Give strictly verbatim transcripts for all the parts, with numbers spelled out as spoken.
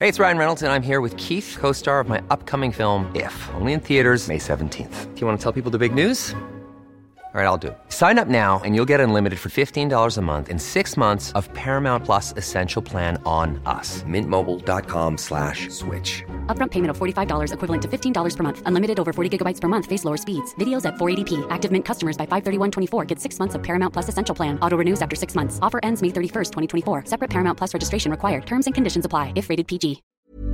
Hey, it's Ryan Reynolds, and I'm here with Keith, co-star of my upcoming film, If, only in theaters May seventeenth. Do you want to tell people the big news? All right, I'll do it. Sign up now and you'll get unlimited for fifteen dollars a month and six months of Paramount Plus Essential Plan on us. Mint Mobile dot com slash switch. Upfront payment of forty-five dollars equivalent to fifteen dollars per month. Unlimited over forty gigabytes per month. Face lower speeds. Videos at four eighty p. Active Mint customers by five thirty-one twenty-four get six months of Paramount Plus Essential Plan. Auto renews after six months. Offer ends May thirty-first, twenty twenty-four. Separate Paramount Plus registration required. Terms and conditions apply if rated P G.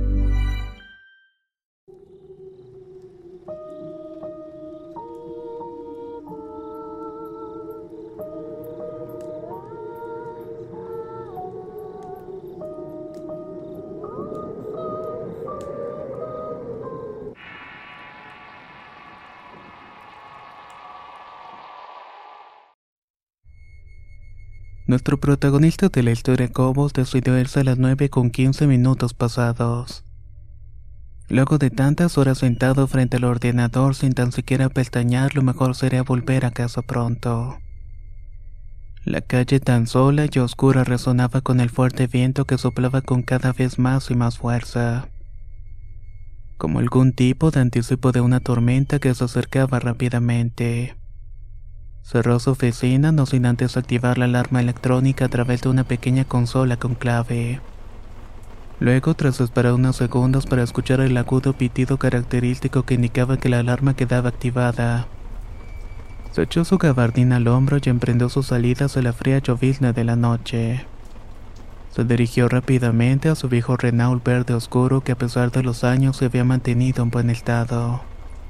Nuestro protagonista de la historia, Cobos, decidió irse a las nueve con quince minutos pasados. Luego de tantas horas sentado frente al ordenador sin tan siquiera pestañear, lo mejor sería volver a casa pronto. La calle tan sola y oscura resonaba con el fuerte viento que soplaba con cada vez más y más fuerza, como algún tipo de anticipo de una tormenta que se acercaba rápidamente. Cerró su oficina no sin antes activar la alarma electrónica a través de una pequeña consola con clave. Luego, tras esperar unos segundos para escuchar el agudo pitido característico que indicaba que la alarma quedaba activada, se echó su gabardina al hombro y emprendió su salida hacia la fría llovizna de la noche. Se dirigió rápidamente a su viejo Renault verde oscuro que a pesar de los años se había mantenido en buen estado.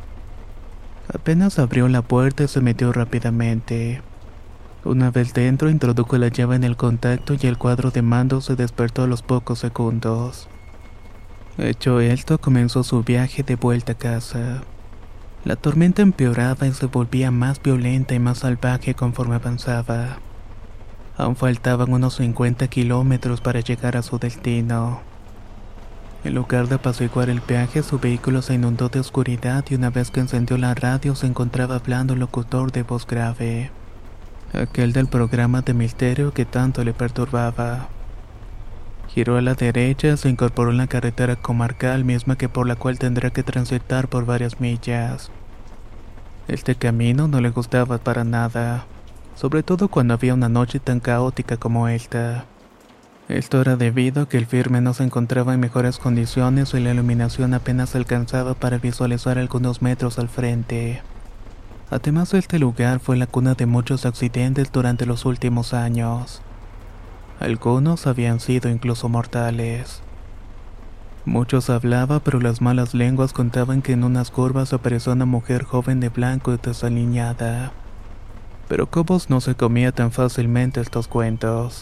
Apenas abrió la puerta y se metió rápidamente. Una vez dentro, introdujo la llave en el contacto y el cuadro de mando se despertó a los pocos segundos. Hecho esto, comenzó su viaje de vuelta a casa. La tormenta empeoraba y se volvía más violenta y más salvaje conforme avanzaba. Aún faltaban unos cincuenta kilómetros para llegar a su destino. En lugar de apaciguar el viaje, su vehículo se inundó de oscuridad y una vez que encendió la radio se encontraba hablando un locutor de voz grave, aquel del programa de misterio que tanto le perturbaba. Giró a la derecha y se incorporó en la carretera comarcal, misma que por la cual tendrá que transitar por varias millas. Este camino no le gustaba para nada, sobre todo cuando había una noche tan caótica como esta. Esto era debido a que el firme no se encontraba en mejores condiciones y la iluminación apenas alcanzaba para visualizar algunos metros al frente. Además, este lugar fue la cuna de muchos accidentes durante los últimos años. Algunos habían sido incluso mortales. Muchos hablaban, pero las malas lenguas contaban que en unas curvas apareció una mujer joven de blanco y desaliñada. Pero Cobos no se comía tan fácilmente estos cuentos.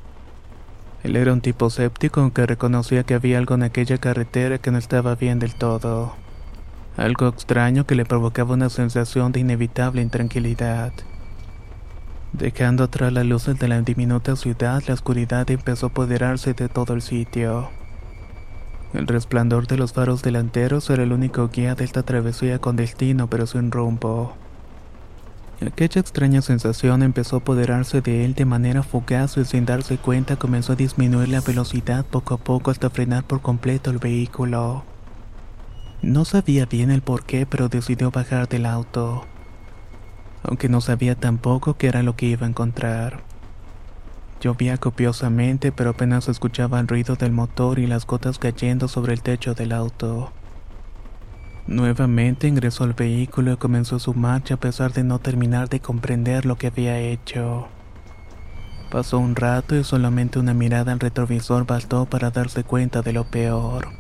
Él era un tipo escéptico, aunque reconocía que había algo en aquella carretera que no estaba bien del todo. Algo extraño que le provocaba una sensación de inevitable intranquilidad. Dejando atrás las luces de la diminuta ciudad, la oscuridad empezó a apoderarse de todo el sitio. El resplandor de los faros delanteros era el único guía de esta travesía con destino pero sin rumbo. Aquella extraña sensación empezó a apoderarse de él de manera fugaz y sin darse cuenta comenzó a disminuir la velocidad poco a poco hasta frenar por completo el vehículo. No sabía bien el porqué, pero decidió bajar del auto, aunque no sabía tampoco qué era lo que iba a encontrar. Llovía copiosamente, pero apenas escuchaba el ruido del motor y las gotas cayendo sobre el techo del auto. Nuevamente ingresó al vehículo y comenzó su marcha a pesar de no terminar de comprender lo que había hecho. Pasó un rato y solamente una mirada al retrovisor bastó para darse cuenta de lo peor.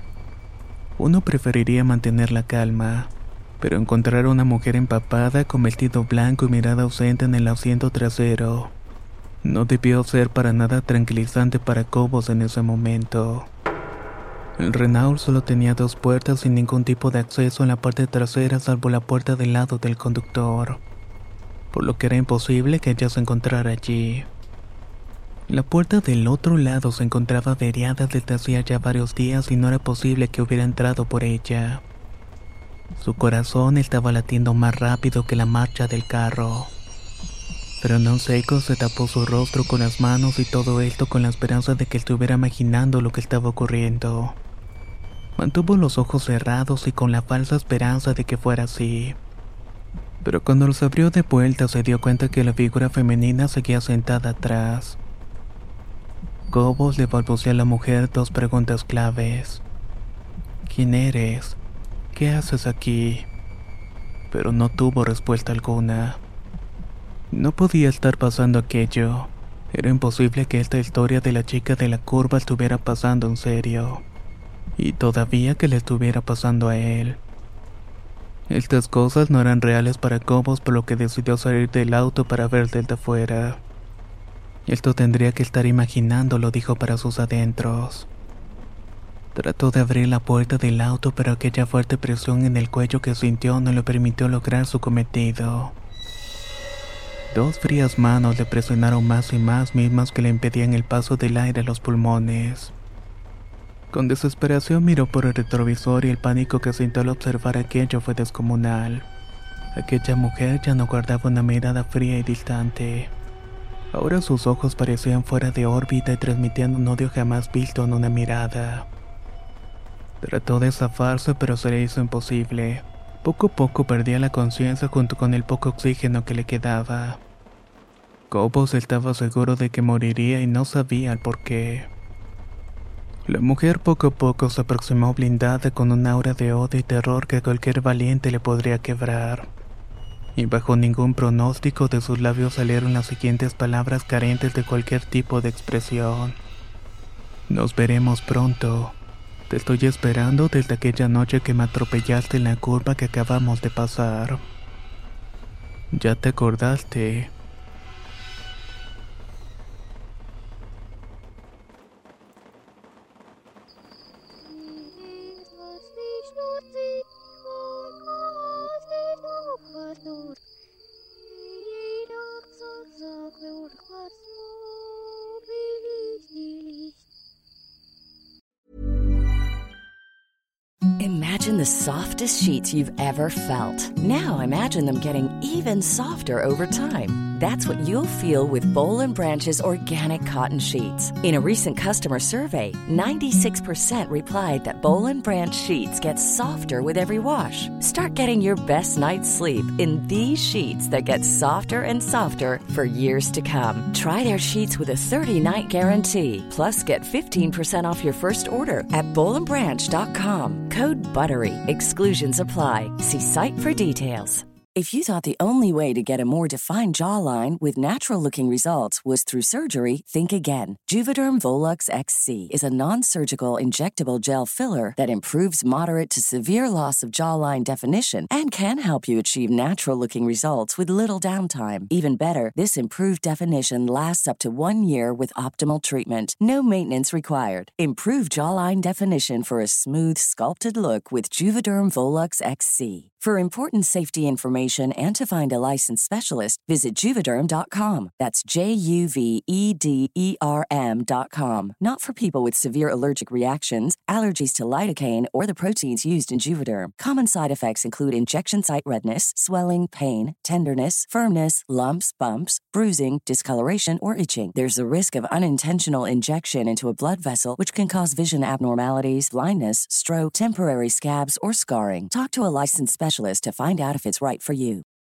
Uno preferiría mantener la calma, pero encontrar a una mujer empapada con vestido blanco y mirada ausente en el asiento trasero no debió ser para nada tranquilizante para Cobos en ese momento. El Renault solo tenía dos puertas sin ningún tipo de acceso en la parte trasera salvo la puerta del lado del conductor, por lo que era imposible que ella se encontrara allí. La puerta del otro lado se encontraba averiada desde hacía ya varios días y no era posible que hubiera entrado por ella. Su corazón estaba latiendo más rápido que la marcha del carro. pero no seco se tapó su rostro con las manos y todo esto con la esperanza de que estuviera imaginando lo que estaba ocurriendo. Mantuvo los ojos cerrados y con la falsa esperanza de que fuera así. Pero cuando los abrió de vuelta se dio cuenta que la figura femenina seguía sentada atrás. Cobos le balbuceó a la mujer dos preguntas claves. ¿Quién eres? ¿Qué haces aquí? Pero no tuvo respuesta alguna. No podía estar pasando aquello. Era imposible que esta historia de la chica de la curva estuviera pasando en serio. Y todavía que le estuviera pasando a él. Estas cosas no eran reales para Cobos, por lo que decidió salir del auto para ver desde afuera. Esto tendría que estar imaginándolo, dijo para sus adentros. Trató de abrir la puerta del auto, pero aquella fuerte presión en el cuello que sintió no le permitió lograr su cometido. Dos frías manos le presionaron más y más, mismas que le impedían el paso del aire a los pulmones. Con desesperación miró por el retrovisor y el pánico que sintió al observar aquello fue descomunal. Aquella mujer ya no guardaba una mirada fría y distante. Ahora sus ojos parecían fuera de órbita y transmitían un odio jamás visto en una mirada. Trató de zafarse, pero se le hizo imposible. Poco a poco perdía la conciencia junto con el poco oxígeno que le quedaba. Cobos estaba seguro de que moriría y no sabía el por qué. La mujer poco a poco se aproximó blindada con un aura de odio y terror que cualquier valiente le podría quebrar. Y bajo ningún pronóstico de sus labios salieron las siguientes palabras carentes de cualquier tipo de expresión. Nos veremos pronto. Te estoy esperando desde aquella noche que me atropellaste en la curva que acabamos de pasar. ¿Ya te acordaste? Imagine the softest sheets you've ever felt. Now imagine them getting even softer over time. That's what you'll feel with Boll and Branch's organic cotton sheets. In a recent customer survey, ninety-six percent replied that Boll and Branch sheets get softer with every wash. Start getting your best night's sleep in these sheets that get softer and softer for years to come. Try their sheets with a thirty-night guarantee. Plus, get fifteen percent off your first order at boll and branch dot com. Code BUTTERY. Exclusions apply. See site for details. If you thought the only way to get a more defined jawline with natural-looking results was through surgery, think again. Juvederm Volux X C is a non-surgical injectable gel filler that improves moderate to severe loss of jawline definition and can help you achieve natural-looking results with little downtime. Even better, this improved definition lasts up to one year with optimal treatment. No maintenance required. Improve jawline definition for a smooth, sculpted look with Juvederm Volux X C. For important safety information and to find a licensed specialist, visit Juvederm dot com. That's J U V E D E R M dot com. Not for people with severe allergic reactions, allergies to lidocaine, or the proteins used in Juvederm. Common side effects include injection site redness, swelling, pain, tenderness, firmness, lumps, bumps, bruising, discoloration, or itching. There's a risk of unintentional injection into a blood vessel, which can cause vision abnormalities, blindness, stroke, temporary scabs, or scarring. Talk to a licensed specialist to find out if it's right for you.